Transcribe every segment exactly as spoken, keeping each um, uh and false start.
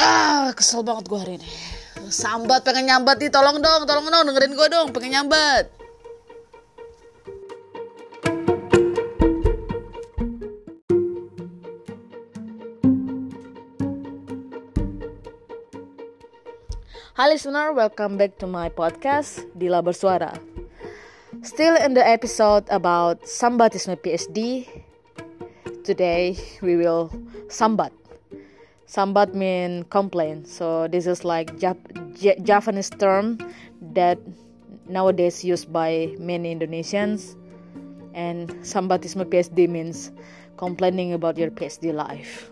Ah, kesel banget gue hari ini. Sambat pengen nyambat nih, tolong dong, tolong dong, dengerin gue dong, pengen nyambat. Hi listener, welcome back to my podcast, Dila Bersuara. Still in the episode about Sambatisme P H D. Today we will sambat. Sambat mean complain. So this is like Jap- J- Japanese term that nowadays used by many Indonesians. And Sambatisme P H D means complaining about your P H D life.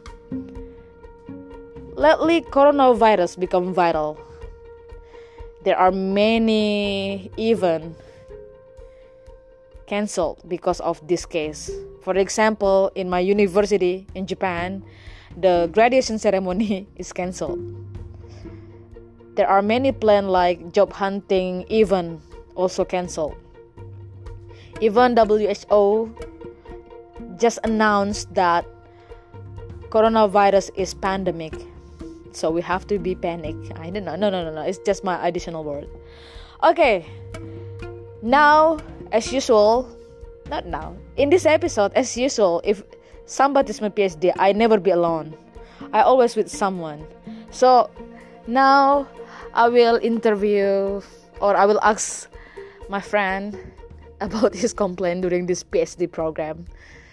Lately, coronavirus become viral. There are many even cancelled because of this case. For example, in my university in Japan, the graduation ceremony is cancelled. There are many plans like job hunting even also cancelled. Even W H O just announced that coronavirus is pandemic. So we have to be panic. I don't know. No, no, no, no. It's just my additional word. Okay. Now, as usual, not now. In this episode, as usual, if somebody's my P H D, I never be alone. I always with someone. So now I will interview or I will ask my friend about his complaint during this P H D program.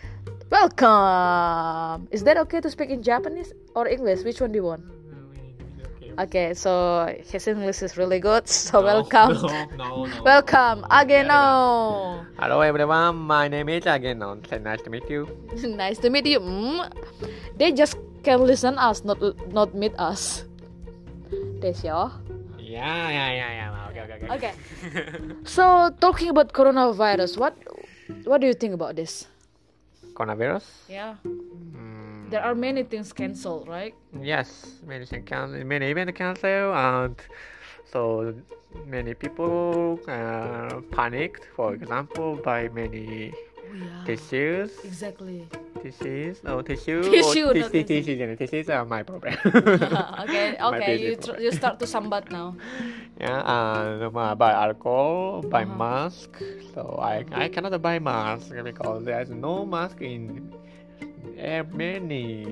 Welcome. Is that okay to speak in Japanese or English? Which one do you want? Okay, so his English is really good, so no, welcome. No, no, no. Welcome, Ageno. Hello everyone, my name is Ageno. Nice to meet you. Nice to meet you. Mm. They just can listen us, not not meet us. Desyo. Yeah, yeah, yeah, yeah. Okay, okay, okay. Okay. So talking about coronavirus, what what do you think about this? Coronavirus? Yeah. Mm, There are many things cancelled, right? yes, many things can, many events cancelled, and so many people uh, panicked. For example, by many Oh, yeah. tissues. Exactly. Tissues? No, tissue. Tissue, or not tissues, tissue. tissues, tissues are my problem. okay, My okay. You basic tr- you start to sambat now. Yeah, and uh, buy alcohol, buy Uh-huh. mask. So I I cannot buy mask because there's no mask in uh, many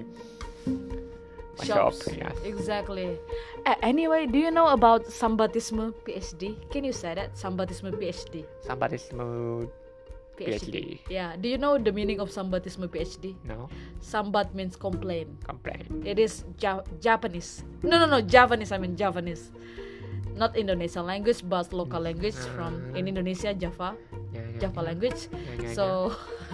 Shops. shop. Yes. Exactly. Uh, anyway, do you know about Sambatisme P H D? Can you say that? Sambatisme P H D. Somebody's mood. P H D. Yeah. Do you know the meaning of Sambatisme P H D? No Sambat means complain. complaint. It is ja- Japanese. No, no, no. Javanese. I mean Javanese. Not Indonesian language, but local language from in Indonesia, Java. Yeah, yeah, Java yeah. language. Yeah, yeah, So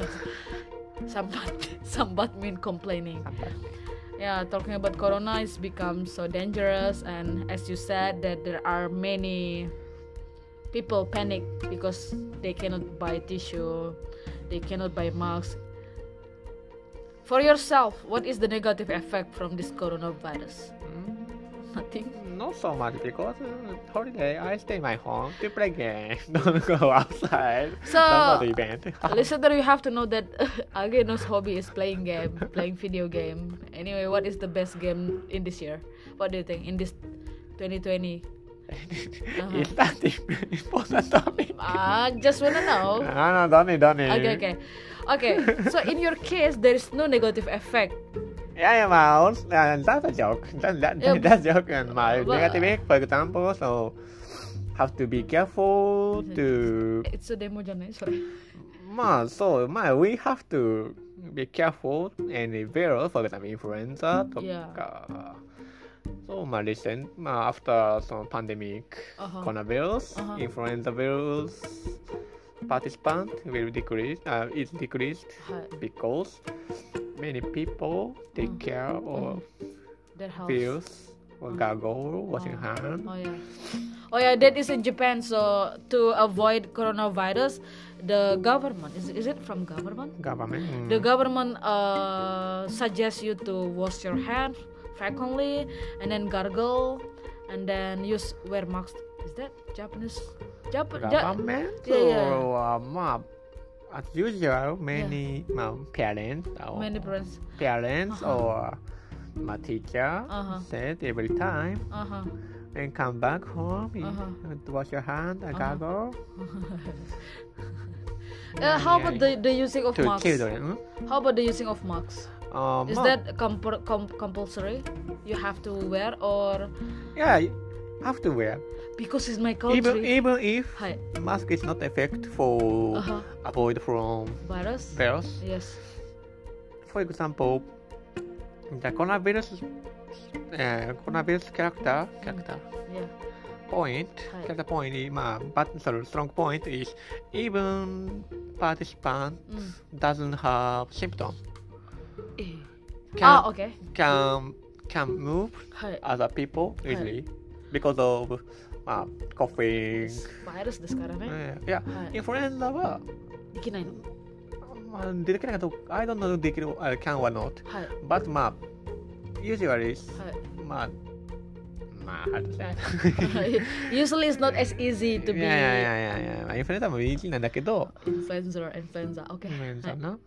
sambat sambat mean complaining. Sambat. Yeah, talking about corona is become so dangerous, and as you said that there are many people panic because they cannot buy tissue, they cannot buy masks. For yourself, what is the negative effect from this coronavirus? Mm, Nothing. not so much because uh, holiday I stay in my home to play game. Don't go outside. So, Don't go to event. Listener, you have to know that Ageno's hobby is playing game, playing video game. Anyway, what is the best game in this year? What do you think in this twenty twenty? Uh-huh. Is that the important topic? Ah, just wanna know. No, no, don't need, don't need. Okay, okay, okay. So in your case, there is no negative effect. Yeah, yeah, well, uh, that's a joke. That, that, Yeah, that's a joke. And my but- negative effect, for example, so have to be careful to. It's a demo, Janai. Sorry. Ma, so ma, we have to be careful any virus, for example, influenza. To, Yeah. uh, so ma, recent ma, after some pandemic, Uh-huh. coronavirus, Uh-huh. influenza virus, participant will decrease. Uh, it's decreased Hi. because many people take Mm. care of That helps. pills or gargle, washing Oh. hand. Oh yeah. Oh yeah, that is in Japan. So to avoid coronavirus, the government is is it from government? Government. mm, The government uh suggests you to wash your hands frequently and then gargle and then use wear mask. Is that Japanese? Jap- Ja- government. Yeah, yeah. So, uh, ma, as usual, many um, parents or Many parents. parents Uh-huh. or my teacher Uh-huh. said every time Uh-huh. when come back home, you Uh-huh. have to wash your hand and Uh-huh. gargle. Uh, how about the, the using of to masks? children? Hmm? How about the using of masks? Um, Is ma- that compul- com- compulsory? You have to wear or yeah, you have to wear. because it's my country? Even even if Hi. mask is not effect for Uh-huh. avoid from Virus? virus. Yes. For example, the coronavirus uh, coronavirus character character Yeah. point Hi. character point is, uh, but sorry, strong point is even participant Mm. doesn't have symptom Eh. can Ah, okay. can can move Hi. other people easily because of uh, coughing. Virus ですからね。 Yeah, はい。 インフルエンザは、 できないの。 まあ、できないかどうか、I don't know できる、あ can or not. はい。 But まあ、usually はい。 まあ、まあ、how to say? Usually it's not as easy to い be やいやいやいやいや、まあインフルエンザもイージーなんだけど、 influencer or influenza. イ Okay. ンフルエンザな。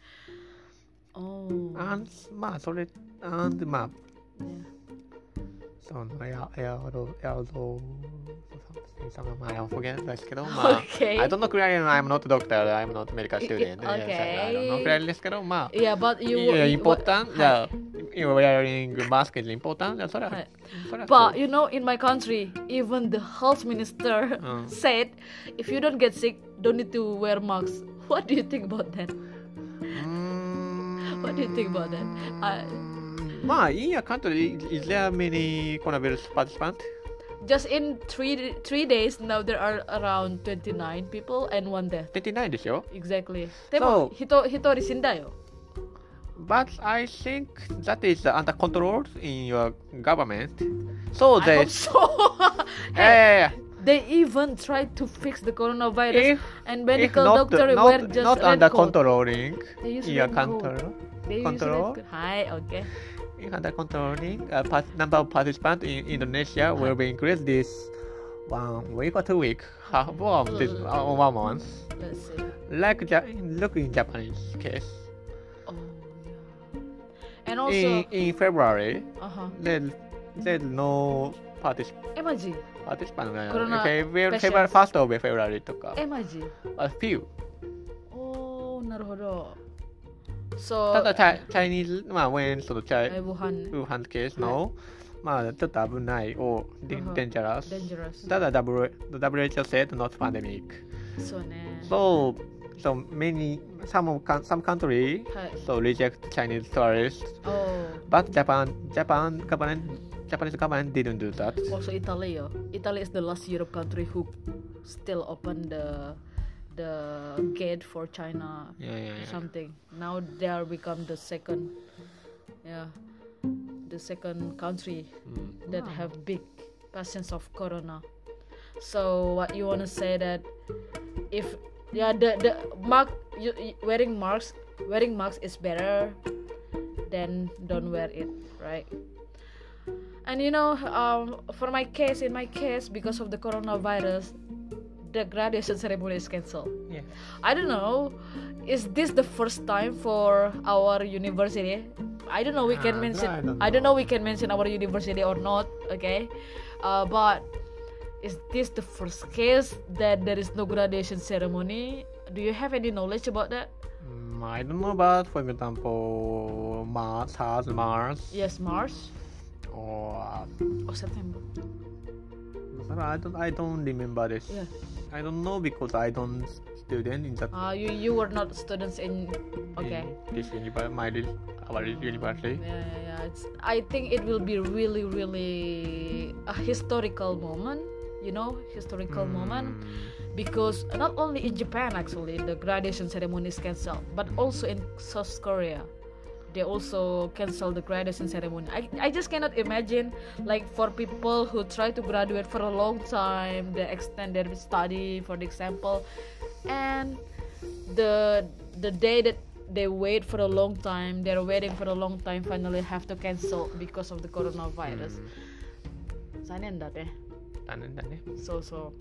Oh. And まあ、それ、and まあ、 Yeah. そのエアエアロエアロそのまあ、I forget ですけど、まあ、 Okay. I don't know clearly, I'm not doctor, I'm not medical student. Okay. I don't know clearly ですけど、まあ、 Yeah, but you. yeah, you- important. what- Yeah, you're wearing mask is important. Yeah, それは、 はいそれは But そう you know, in my country, even the health minister Uh. said, if you don't get sick, don't need to wear masks. What do you think about that? うーん What do you think about that? I, まあ、in your country, is there many coronavirus participants? just in three three days now, there are around twenty-nine people and one death. 出てないでしょ Exactly. でも、人一人死んだよ。 But I think that is under control in your government. So I they, hope so. yeah, yeah, yeah. They even tried to fix the coronavirus, If, and if medical not, doctor not, wear just not red under coat. controlling They use in your red coat. country, They use control. red coat. Hi, okay. if under controlling, uh, part, number of participants in Indonesia will be increased this one week or two week, half of this uh, one month. Let's see. Like ja- look in Japanese case. Oh, yeah. And also, In in February, uh-huh. there there's no particip- え、マジ participant. Corona February, patients. February first of February とか。 え、マジ A few. おー、なるほど。So, ただ、チャチャイニーズ、まあ、when そのチャイ、 え、武漢ね。 ウーハンケースの、まあ、ちょっと危ないを、デうんンジャラス。 Dangerous. ただ、W- W H O said not pandemic. そうね。 So, so many, some, of, coun- some country はい。 so reject Chinese tourists, Oh, but Japan, Japan government, Japanese government didn't do that. also Italy, yo. Italy is the last Europe country who still open the the gate for China Yeah, yeah, yeah. something. Now they are become the second, yeah, the second country Mm. that have big patients of corona. So what you wanna say that if yeah the the mark you, you- wearing masks wearing masks is better than don't wear it, right? And you know, um, for my case, in my case, because of the coronavirus, the graduation ceremony is cancelled. Yeah. I don't know. Is this the first time for our university? I don't know. We can Ah, mention. I don't I don't know. know. We can mention our university or not. Okay, uh, but is this the first case that there is no graduation ceremony? Do you have any knowledge about that? Mm, I don't know about, for example, Mars, SARS, Mars, Yes, March or uh, or September. I don't, I don't remember this. Yeah. I don't know because I don't student in that. Uh, you you were not students in. Okay. In this university, my uni- our university. Yeah, yeah, yeah. It's, I think it will be really, really a historical moment. You know, historical moment. Mm. Because not only in Japan actually the graduation ceremony is cancelled, but also in South Korea they also cancel the graduation ceremony. I, I just cannot imagine, like, for people who try to graduate for a long time, they extend their study, for the example, and the the day that they wait for a long time, they're waiting for a long time, finally have to cancel because of the coronavirus. Sayang that eh. Tanan dan eh. So so.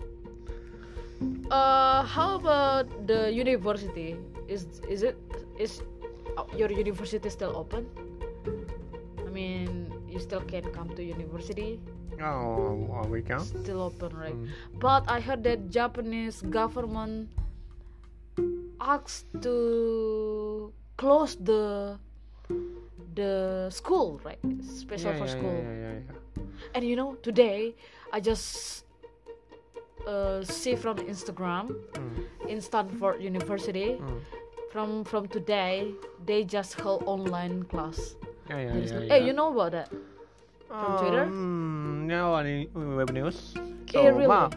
Uh, how about the university? Is is it is uh, your university still open? I mean, you still can come to university. Oh, oh, we can. Still open, right? Mm. But I heard that Japanese government asked to close the the school, right? Special Yeah, for yeah, school. yeah, yeah, yeah. And you know, today I just uh, see from Instagram Mm. in Stanford University. Mm. From from today, they just held online class. Yeah, yeah, There is yeah, no- yeah. Hey, you know about that? From Twitter? Um, no, any web news. So, Eh, really? まあ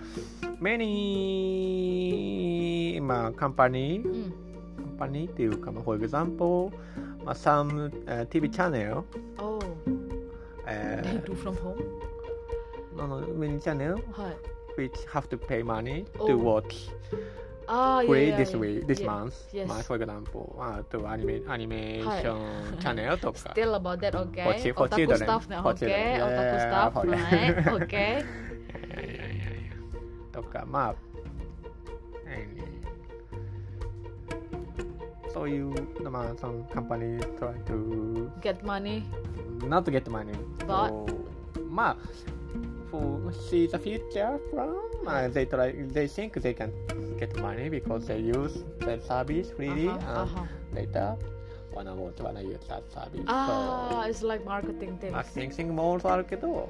many まあ company Mm. company っていうか、まあ for example, まあ some、uh, ティーブイ channel, Oh, they uh, do from home? no, no, many channel はい。 which have to pay money Oh. to watch Ah, yeah, free yeah, this yeah. week, this Yeah. month. Yes. まあ for example, あとアニメアニメーションチャンネルとか。 Still about that, okay? For chi- for Otaku children. stuff now, For okay? children. Otaku Yeah, stuff, for- right? Okay. いやいやいやいやとかまあ、何そういうまあその company try to Get money. not to get money. But- So, まあ for see the future from uh, they try they think they can get money because they use that service freely Uh-huh, and uh-huh. later wanna want wanna use that service. Ah, it's like marketing things. まあ thinking もあるけど、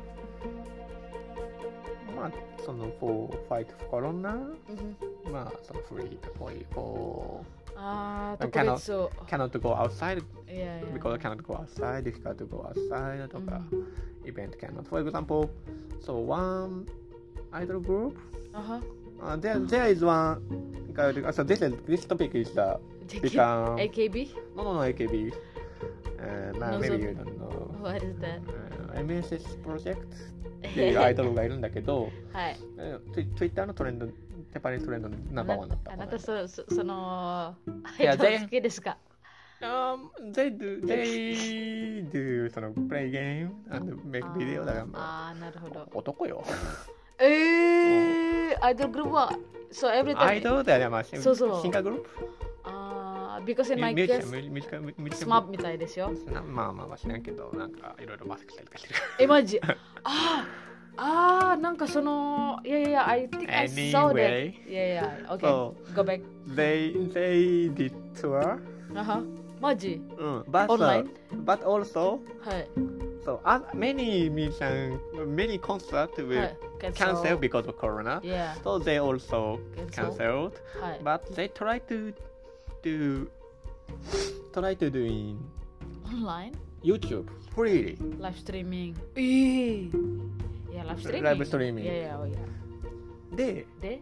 まあその for fight corona、 Mhm. まあその free と for Ah, And Tokuritsu. cannot go outside Yeah, yeah. because cannot go outside, difficult to go outside とか、event cannot. For example, so one idol group, Uh-huh. uh, there there is one. So this is this topic is the become A K B? no no no A K B. Uh, No, maybe so- you don't know. What is that? Uh, エムエスエス プロジェクトっていうアイドルがいるんだけど、 はい。 えーツイ Twitter のトレンド、ジャパニーズトレンドのナンバーワンだった。 あなたそそそのいやアイドル全好きですか？ Um, they do, they do その play game and make video だからまあああ、なるほど。 男よ。 ええー、アイドルグループは so every アイ time ドルだよね、まあ、シンそうそうシンガーグループあー because in ミ my ュージシャ case ン、ミュージミュージカルミュージスマップみたいですよ。 なまあまあまあ知らんけど、なんかいろいろマスクしたりとかしてる。 え、マジあーあー、なんかそのいやいやいや、I think I saw that. Anyway. いやいや、OK, So, go back. They, they did tour. あは、マジうん。But, Online? but also, はい。 so uh, many musicians, many concerts は will い。 cancel because of Corona. Yeah. So they also Cancel. canceled. はい。 But they try to do, try to do in Online? YouTube freely. Live streaming. えー。いや、ライブストリーミング。 ライブストリーミングいやいや、おいや。 で、 で、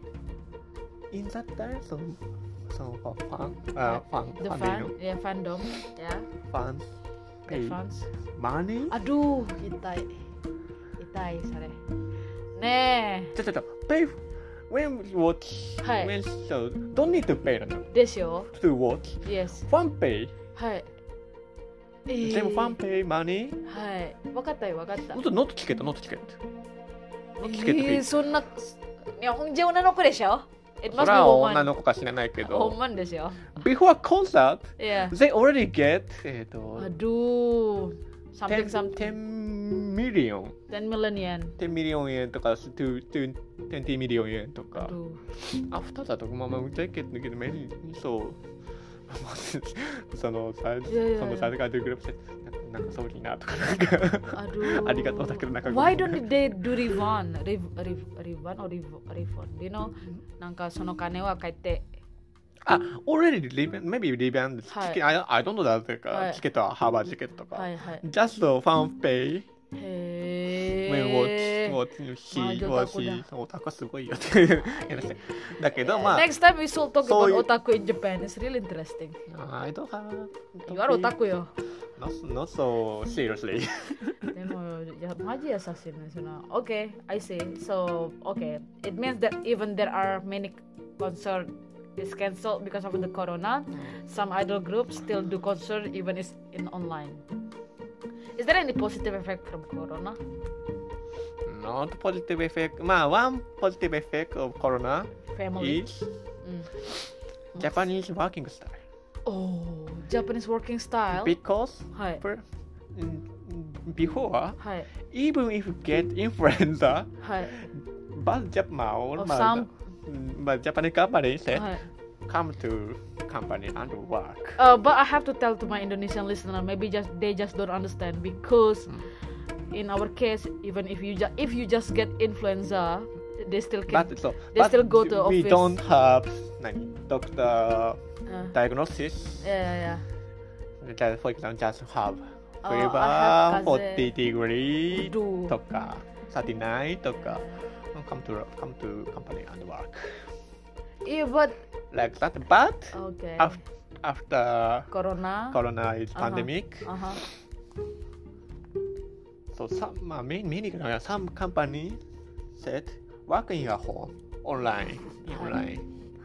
in that time, その、そのファン、あ、ファン、 the ファンでいいの fan, yeah, fandom, yeah, ファン、 the pay fans. money? Aduh,痛い。痛い、それ。ねちょちょちょ、pay when watch, はい when so don't need to pay なのえ。ですよ。 to watch. Yes. ファン pay? はい。えーでもファン pay money? はい。わかったよ、わかった。 Not not チケット、not チケット。not チケットえー、そんな、日本人女の子でしょ？ It そ must れ be は woman. 女の子か知らないけほんど。 まんですよ。 Before concert, Yeah. they already get えっと Aduh. Something 10 something. million. ten million yen. 10ミリオン円とか20ミリオン円とか。 Aduh. アフターだとまあまあジャケットだけどメニューそうそのさいやいやそのさがグループでなんかそういいなとかなんか Aduh. ありがとうだけどなんか Why don't they do refund? Rev, rev, refund or rev, refund? You know? なんかその金は返って。 あ already leave maybe leave and チはいケ I, I don't know that というか、 はいチケットはハーバーチケットとか、 はいはい。 just the fan pay へ when ー。 watch watch まあ she じゃあ or オタク she だオタクはすごいよっていうだけどまあ Next time we should talk そういう about otaku in Japan. It's really interesting. I don't have You are otaku よ。 not, not so seriously でも、いや、マジ優しいね。その Okay, I see. So, okay. It means that even there are many concerts is cancelled because of the corona, some idol groups still do concert even is in online. Is there any positive effect from corona? Not positive effect. まあ、one positive effect of corona Family. is うん Japanese working style. Oh, Japanese working style. Because はい。 per, in before, はい even if you get influenza, はい but Japan, Of but, some- but Japanese company said, はい come to company and work. Uh, but I have to tell to my Indonesian listener, maybe just they just don't understand because in our case, even if you ju- if you just get influenza, they still can. But so, they but still go to we office. don't have like, doctor Uh, diagnosis. yeah, yeah, Just, for example, just have Oh, fever I have forty degree Do. とか thirty-nine とか come to come to company and work yeah. Yeah, but like that. But okay. after after Corona. Corona is Uh-huh. pandemic, Uh huh. so some uh, many many uh, some company said work in your home online online.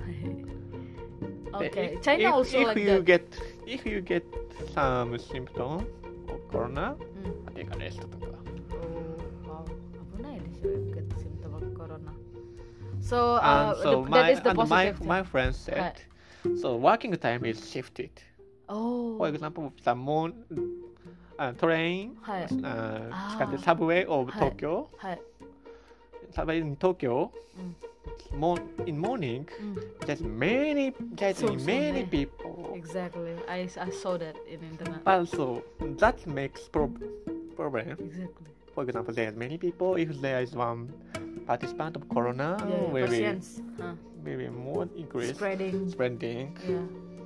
Okay. If- China if, also if like you that. get if you get some symptom of corona, Mm. take a rest とか。 Oh, wow. 危ないでしょ if get symptom of corona. So, uh, And so the, my that is the and my positive. my friend said, Right. so working time is shifted. Oh. For example, the mon, uh, train, はい uh, あー。 使って subway of はい。 Tokyo, はい。 subway in Tokyo, うん mon, in morning, うん there's many, there's そうそうね。 many people. Exactly. I, I saw that in internet. But so that makes pro- problem. Exactly. For example, there's many people. If there is one participant of corona, Yeah, maybe patients. Huh. maybe more increase Spreading. spreading. Yeah.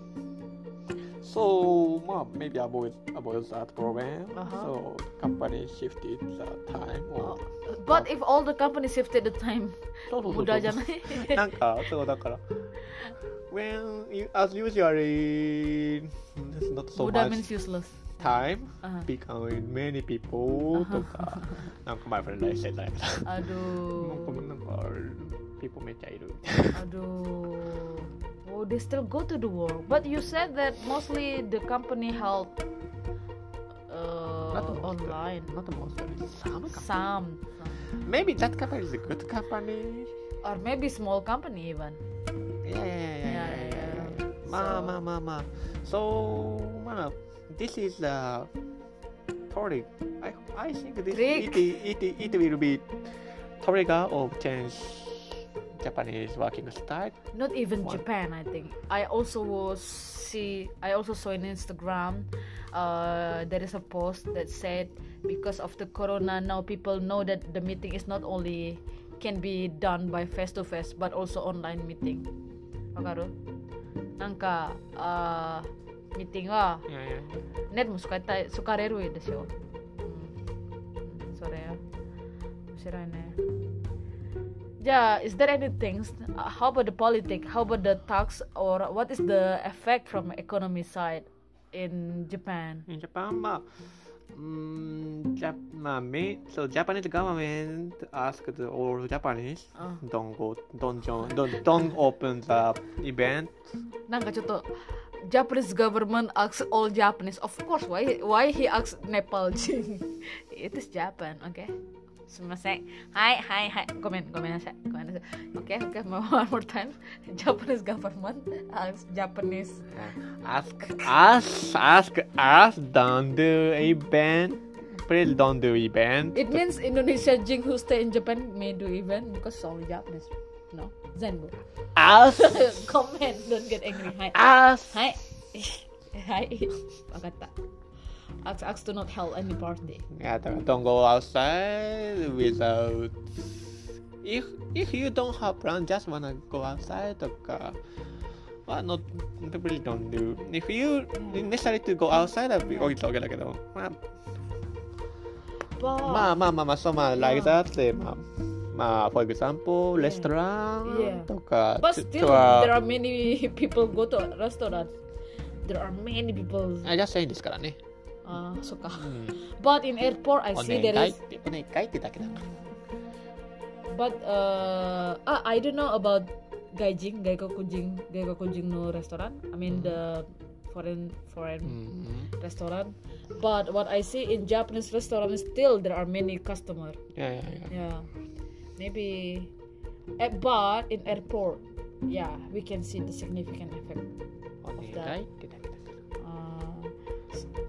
So, well, maybe avoid avoid that problem. Uh-huh. So, company shifted the time. Oh, Or, but if all the companies shifted the time, そうそうそうそう無駄じゃないなんかそうだから when you, as usually there's not so 無駄 much means useless. time Uh-huh. becoming many people とかなんか my friend I said that なんか Aduh. なんか people めっちゃいる Aduh. Oh, they still go to the work. But you said that mostly the company held uh, Not most, online. not most some company. Some. Maybe that company is a good company. Or maybe small company even. Yeah, yeah, yeah, yeah, Yeah, yeah, yeah, yeah. yeah. Ma, So- ma, ma, ma. So, ma, this is the trigger. I, I think this Trick. it, it, it will be trigger of change Japanese working style. Not even What? Japan, I think. I also was see. I also saw on Instagram. Uh, there is a post that said because of the corona now people know that the meeting is not only can be done by face to face but also online meeting. Wakaru? Nanka uh, meeting wa Yeah, yeah. ネットも使いたい使われるでしょ。うん、それ面白いね。じゃあ、is there anything? Uh, how about the politics? How about the tax? Or what is the effect from economy side in Japan? In Japan, ma, mm, Jap, ma, me, so Japanese government asked all Japanese Uh. don't go, don't join, don't, don't open the event. なんかちょっと Japanese government asks all Japanese. Of course, why why he asks Nepal? It is Japan, okay? すみません。はいはいはい。ごめんごめんなさい。ごめんなさい。Okay, okay. One more time. Japanese government asks Japanese. Ask us, ask us, don't do event. Please don't do event. It means Indonesia Jing who stay in Japan may do event because it's only Japanese. No? Zenbu. Us, Comment, don't get angry. Hi. us. Hi. Hi. わかった。Ask, ask to not hold any party. Yeah, don't don't go outside without. If if you don't have plan, just wanna go outside とか。Well, not people don't do. If you necessary to go outside, I'll be okay だけど。まあ But まあまあまあまあ、そうまあ、like that で、まあ、まあ、for example, Yeah. restaurant Yeah. とか、 but と still は there are many people go to a restaurant. There are many people. あ、じゃあ、いいんですからね。 ああ、そっか。 うん。 But in airport, I お see 願 there いっ is. て、お願いってだけだから。 But uh, ah, I don't know about gaijing, gaikokujing, gaikokujing no restaurant. I mean the foreign う foreign ん。 restaurant. But what I see in Japanese restaurant still there are many customer. いやいやいや。 Yeah, maybe. eh, But in airport, yeah, we can see the significant effect. お願いってだけだから。 Uh, s-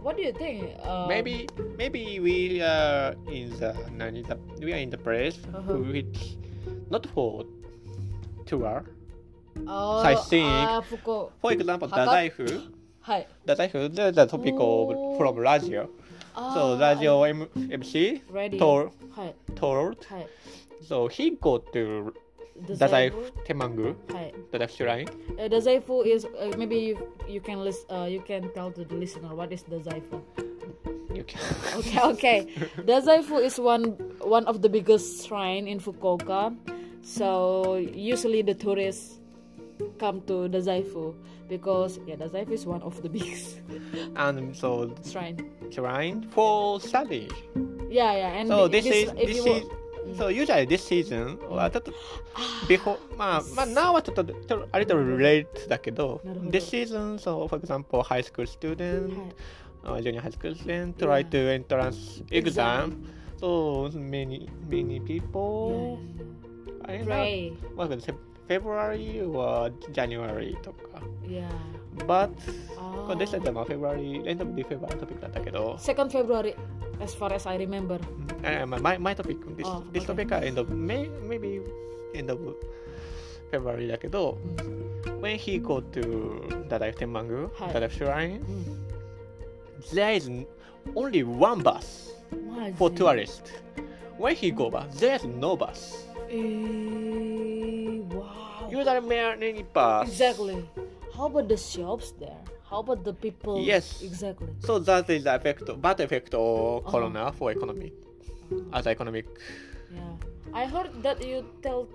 what do you think? Um, maybe maybe we are in the we are in the place Uh-huh. which not for tour. oh, sightseeing. ah, Fuko. For example, Hakka? Dazaifu. はい Dazaifu, there's a topic Oh. of from radio. So Ah, radio M- MC Radio. told はい told. はい So he go to Dazaifu. Dazaifu Temangu, はい Dazaifu Shrine. Uh, Dazaifu is uh, maybe you, you can list uh, you can tell to the listener what is Dazaifu. You can. Okay, okay. Dazaifu is one one of the biggest shrine in Fukuoka. So usually the tourists come to Dazaifu because yeah, Dazaifu is one of the biggest And so shrine. shrine for study. Yeah, yeah. And So this is if this you is so usually this season はちょっと before まあまあ now はちょっとちょっとあれと relate だけどなるほど this season so for example high school student、uh, junior high school student try to entrance exam so many many people I don't know Pray. まあ February or January とか Yeah. but Ah. これでしたらまあ February end of the February トピックだったけど Second February, as far as I remember. Uh, my, my topic, this, Oh, this okay. topic are end of May, maybe end of February だけど、when he go to Dadaif Tenmangu, はい Dadaif Shrine, うん。 there is only one bus マジ for tourists. When he go back, there is no bus. えー、wow. Usually many bus. Exactly. How about the shops there? How about the people? Yes. Exactly. So that is the effect, bad effect of Uh-huh. Corona for economy, as economic. Yeah. I heard that you tell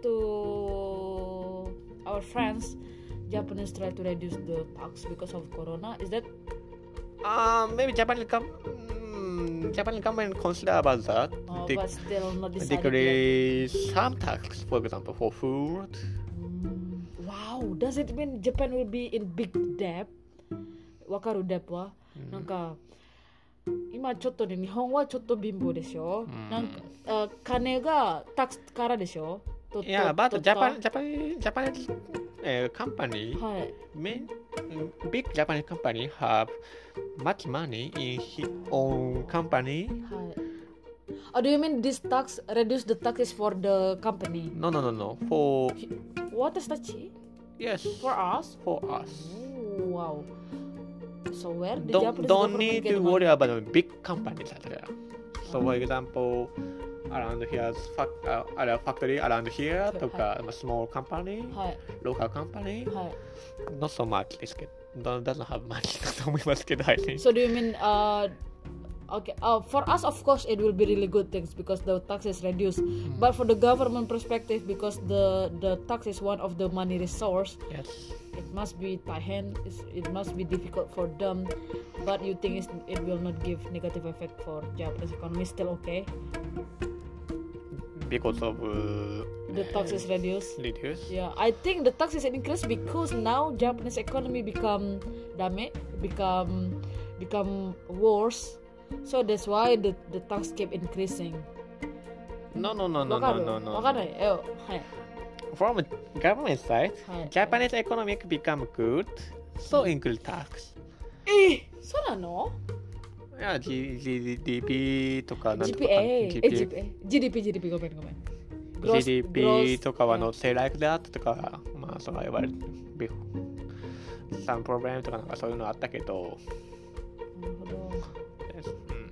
to our friends Japanese try to reduce the tax because of Corona. Is that Uh, maybe Japan come. Mm, Japan government consider about that. oh, They- but still not decided yet? decrease some tax, for example, for food. Mm, wow. Does it mean Japan will be in big debt? Wakaru debt wa? なんか今ちょっとね日本はちょっと貧乏でしょ、 んなんかあ金がタックスからでしょと Yeah, と but と Japan, Japan, Japanese uh, company, はい main, big Japanese company have much money in his own company. はい Oh, do you mean this tax reduce the taxes for the company? No, no, no, no. For What is that? Chi? yes, For us? for us. Oh, wow. So where the Don't Japanese don't government need get to money? worry about the big companies out there. So for example, around here, fac- uh, at a factory around here, とか a small company, はい local company, はい not so much ですけど、doesn't have much だと思いますけど、I think. So do you mean uh okay uh, for us of course it will be really good things because the tax is reduced but for the government perspective because the the tax is one of the money resource Yes. it must be tahen it's- it must be difficult for them but you think it's, it will not give negative effect for Japanese economy still okay Because of uh, the tax is reduced reduce. yeah I think the tax is increased because now Japanese economy become dame become become worse so that's why the the tax keep increasing No, no, no, no, わかる no, no, わか no. るえはい From government side, はい Japanese economic become good, so increase tax. えそうなの Yeah, G- G- GDP とかなんとかジーピーエー えジージピーージーディーピー ジーディーピー ごめんごめん Gross- ジーディーピ gross- ー とかは yeah. not say like that とか、まあ、そのいわゆる some problem とかなんかそういうのあったけど、 なるほどうん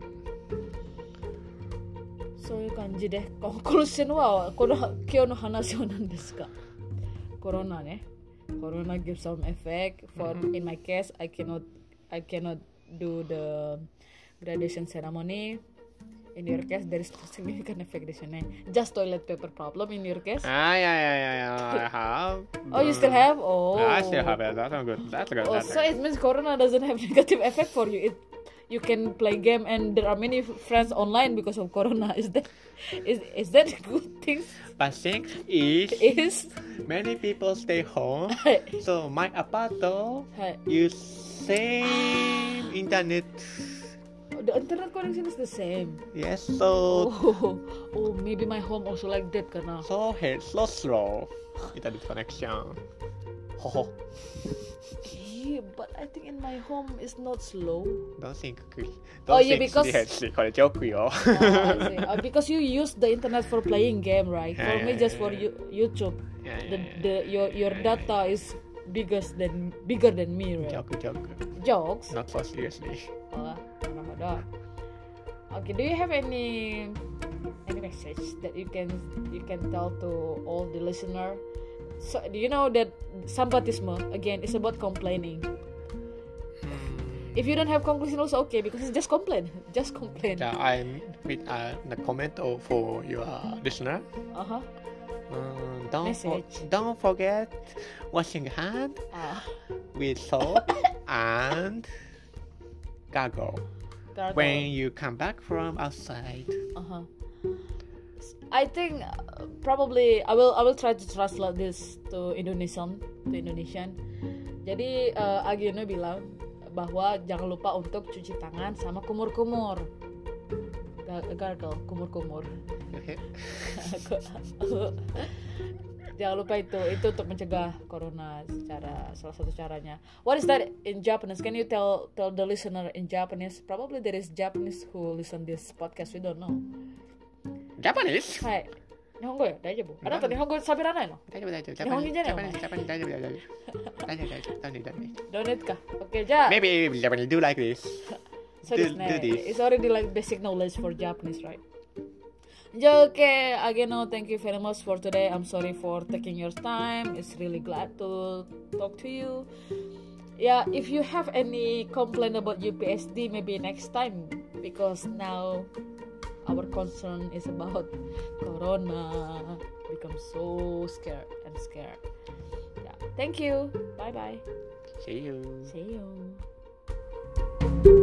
そういう感じでここのシのはこの今日の話は何ですかコロナねコロナ gives some effect for in my case I cannot I cannot do the graduation ceremony in your case there is no significant effect di sana just toilet paper problem in your case Ah, yeah, yeah, yeah, yeah, I have. oh you still have oh I still have it. That's good. That's good. oh That's so good. it means corona doesn't have negative effect for you it you can play game and there are many friends online because of corona is that is is that a good thing But thing is, is many people stay home. はい So my apartment はい use same internet. the internet connection is the same Yes, so oh oh maybe my home also like that karena so hey, so slow internet connection. Ho ho. Yeah, but I think in my home it's not slow. Don't think. Oh, Don't yeah, think because- seriously. これジョークよ。 Oh, I see. Uh, because you use the internet for playing game, right? Yeah, For yeah, me, yeah, just yeah. for you, YouTube. Yeah, The yeah, the your your Yeah, yeah, data is bigger than bigger than me, right? ジョークジョーク。 Jokes. Not so seriously. Oh, naruhodo. Okay, do you have any any message that you can you can tell to all the listener? So do you know that sambatisme again is about complaining? If you don't have conclusion, also okay because it's just complain, just complain. Yeah, I'm with uh, the comment of- for your listener. Uh huh. Um, don't for, Message. don't forget washing hand Ah, with soap and gargle when you come back from outside. Uh huh. I think uh, probably I will I will try to translate this to Indonesian to Indonesian. Jadi uh, Agiono bilang bahwa jangan lupa untuk cuci tangan sama kumur-kumur. Ga- Gargle, kumur-kumur. Okay. Jangan lupa itu itu untuk mencegah corona secara salah satu caranya. What is that in Japanese? Can you tell tell the listener in Japanese? Probably there is Japanese who listen this podcast. We don't know. Japanese? はい。日本語よ。大丈夫。あなた日本語喋らないの？ 大丈夫大丈夫。 日本人じゃない Japanese Japanese 大丈夫大丈夫。大丈夫大丈夫。Don't need don't need. ドネットか。OK、じゃあ。 Maybe Japanese do like this. そうですね。 do this. It's already like basic knowledge for Japanese, right? じゃあ OK、again, no, thank you very much for today. I'm sorry for taking your time. It's really glad to talk to you. Yeah, if you have any complaint about U P S D, maybe next time because now our concern is about corona. Become so scared and scared. Yeah, thank you. Bye bye. See you. See you.